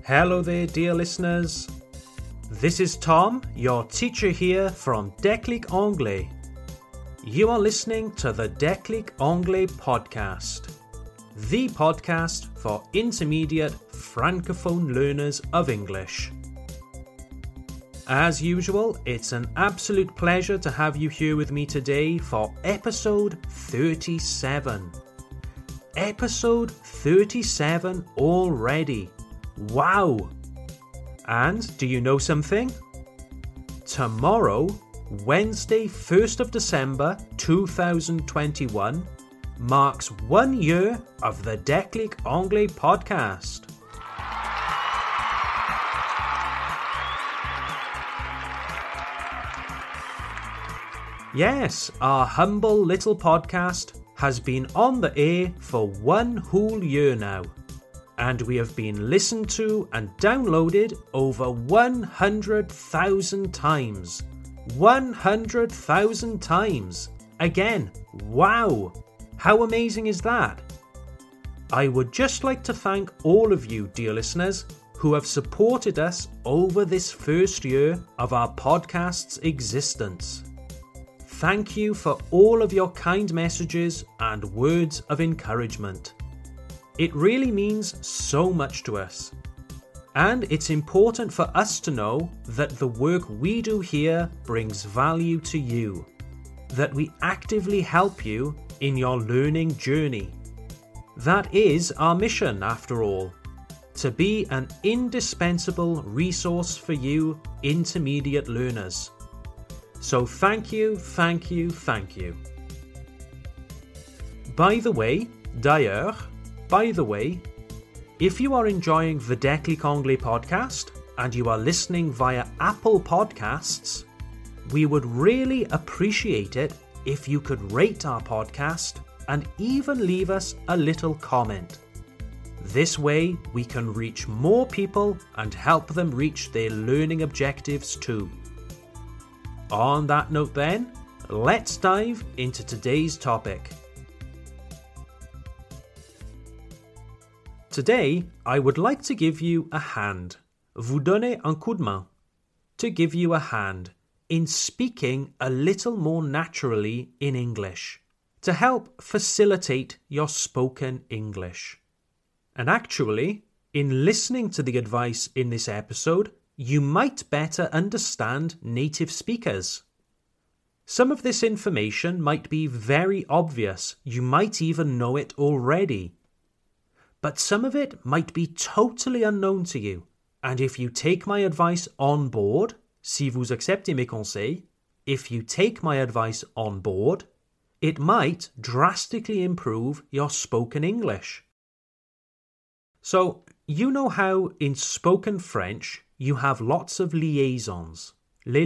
Hello there, dear listeners. This is Tom, your teacher here from Déclic Anglais. You are listening to the Déclic Anglais podcast, the podcast for intermediate francophone learners of English. As usual, it's an absolute pleasure to have you here with me today for episode 37. Episode 37 already. Wow! And do you know something? Tomorrow, Wednesday 1st of December 2021, marks 1 year of the Déclic Anglais podcast. Yes, our humble little podcast has been on the air for 1 whole year now. And we have been listened to and downloaded over 100,000 times. 100,000 times! Again, wow! How amazing is that? I would just like to thank all of you, dear listeners, who have supported us over this first year of our podcast's existence. Thank you for all of your kind messages and words of encouragement. It really means so much to us. And it's important for us to know that the work we do here brings value to you, that we actively help you in your learning journey. That is our mission, after all, to be an indispensable resource for you intermediate learners. So thank you, thank you, thank you. By the way, if you are enjoying the Déclic Anglais podcast and you are listening via Apple Podcasts, we would really appreciate it if you could rate our podcast and even leave us a little comment. This way we can reach more people and help them reach their learning objectives too. On that note then, let's dive into today's topic. Today, I would like to give you a hand, vous donner un coup de main, to give you a hand in speaking a little more naturally in English, to help facilitate your spoken English. And actually, in listening to the advice in this episode, you might better understand native speakers. Some of this information might be very obvious, you might even know it already. But some of it might be totally unknown to you. And if you take my advice on board, si vous acceptez mes conseils, if you take my advice on board, it might drastically improve your spoken English. So, you know how in spoken French you have lots of liaisons, les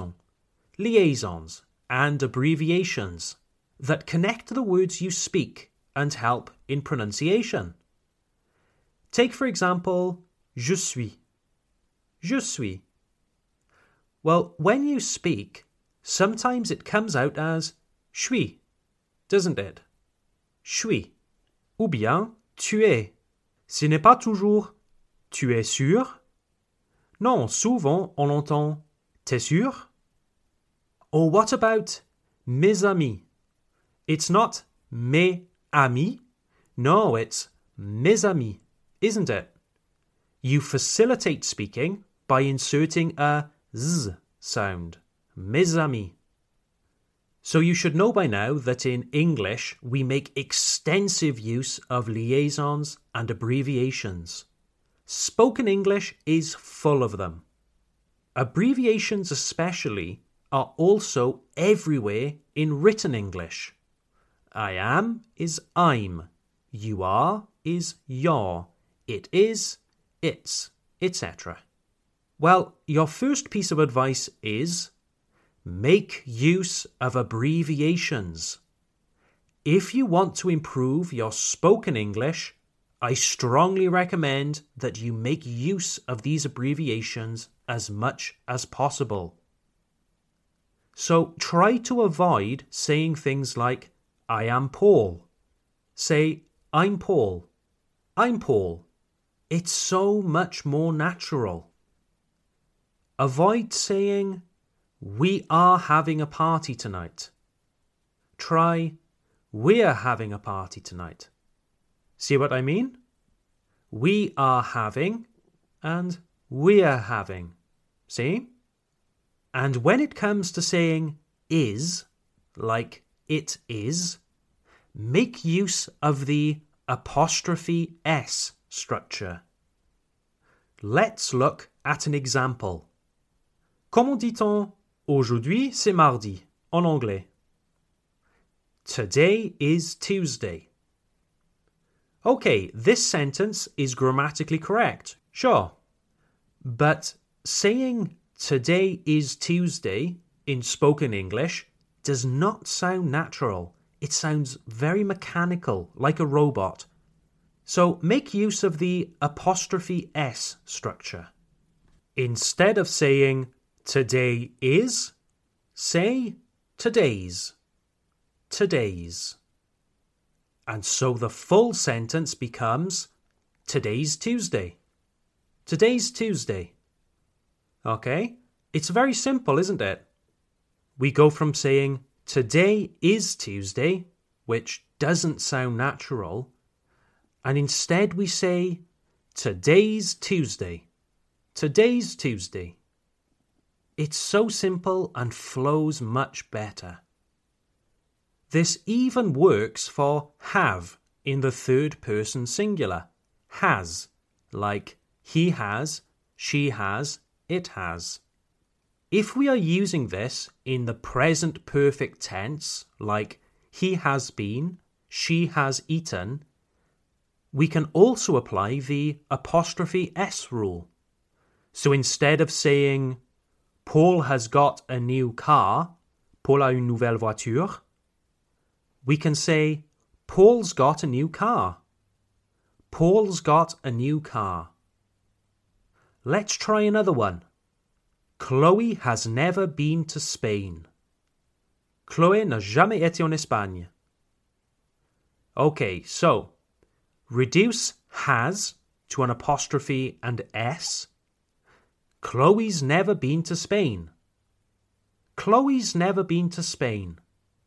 liaisons and abbreviations that connect the words you speak and help in pronunciation. Take, for example, je suis. Je suis. Well, when you speak, sometimes it comes out as suis, doesn't it? Suis. Ou bien tu es. Ce n'est pas toujours tu es sûr. Non, souvent on entend t'es sûr? Or what about mes amis? It's not mes amis. No, it's mes amis. Isn't it? You facilitate speaking by inserting a z sound, mes amis. So you should know by now that in English we make extensive use of liaisons and abbreviations. Spoken English is full of them. Abbreviations especially are also everywhere in written English. I am is I'm. You are is you're. It is, it's, etc. Well, your first piece of advice is make use of abbreviations. If you want to improve your spoken English, I strongly recommend that you make use of these abbreviations as much as possible. So try to avoid saying things like, I am Paul. Say, I'm Paul. I'm Paul. It's so much more natural. Avoid saying, we are having a party tonight. Try, we're having a party tonight. See what I mean? We are having and we're having. See? And when it comes to saying is, like it is, make use of the apostrophe S structure. Let's look at an example. Comment dit-on aujourd'hui c'est mardi en anglais? Today is Tuesday. Okay, this sentence is grammatically correct, sure. But saying today is Tuesday in spoken English does not sound natural. It sounds very mechanical, like a robot. So make use of the apostrophe S structure. Instead of saying today is, say today's. Today's. And so the full sentence becomes today's Tuesday. Today's Tuesday. Okay? It's very simple, isn't it? We go from saying today is Tuesday, which doesn't sound natural, and instead we say today's Tuesday. Today's Tuesday. It's so simple and flows much better. This even works for have in the third person singular. Has, like he has, she has, it has. If we are using this in the present perfect tense, like he has been, she has eaten, we can also apply the apostrophe S rule. So instead of saying Paul has got a new car, Paul a une nouvelle voiture, we can say Paul's got a new car. Paul's got a new car. Let's try another one. Chloe has never been to Spain. Chloé n'a jamais été en Espagne. Okay, so reduce has to an apostrophe and S. Chloe's never been to Spain. Chloe's never been to Spain.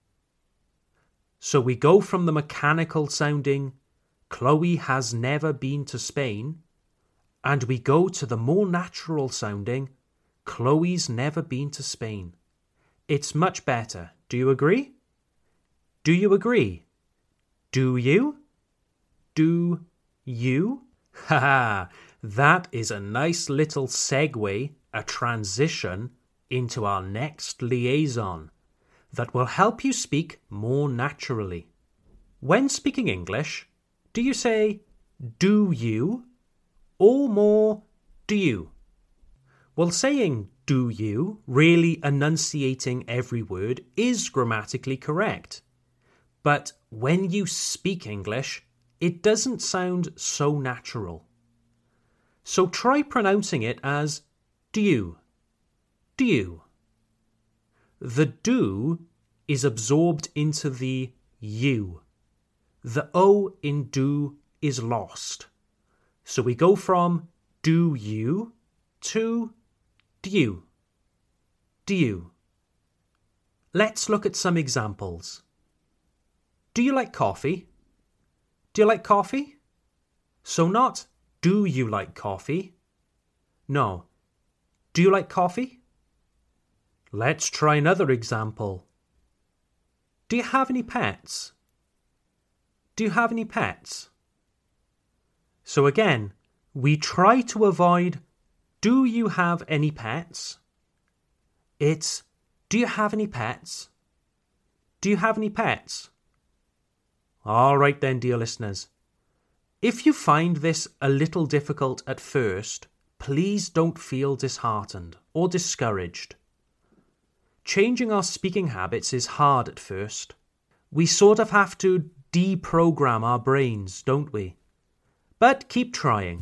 So we go from the mechanical sounding Chloe has never been to Spain, and we go to the more natural sounding Chloe's never been to Spain. It's much better. Do you agree? Do you agree? Do you? Do you? Haha, that is a nice little segue, a transition into our next liaison that will help you speak more naturally. When speaking English, do you say do you or more do you? Well, saying do you, really enunciating every word, is grammatically correct. But when you speak English, it doesn't sound so natural. So try pronouncing it as do you. Do you. The do is absorbed into the you. The O in do is lost. So we go from do you to do you. Do you. Let's look at some examples. Do you like coffee? Do you like coffee? So not do you like coffee? No. Do you like coffee? Let's try another example. Do you have any pets? Do you have any pets? So again, we try to avoid do you have any pets? It's do you have any pets? Do you have any pets? All right then, dear listeners. If you find this a little difficult at first, please don't feel disheartened or discouraged. Changing our speaking habits is hard at first. We sort of have to deprogram our brains, don't we? But keep trying.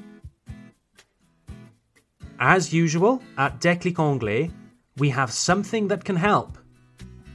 As usual, at Déclic Anglais, we have something that can help.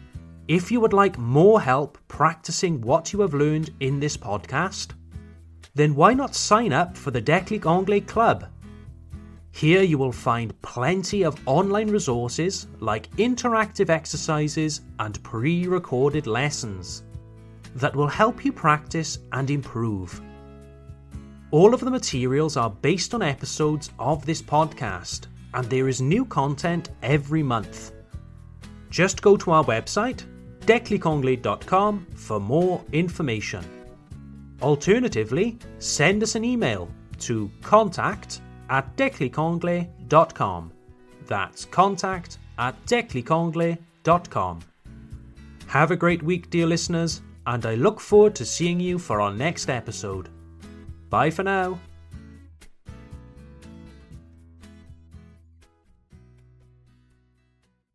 If you would like more help practicing what you have learned in this podcast, then why not sign up for the Déclic Anglais Club? Here you will find plenty of online resources like interactive exercises and pre-recorded lessons that will help you practice and improve. All of the materials are based on episodes of this podcast, and there is new content every month. Just go to our website, declicanglais.com, for more information. Alternatively, send us an email to contact@declicanglais.com. That's contact@declicanglais.com. Have a great week, dear listeners, and I look forward to seeing you for our next episode. Bye for now.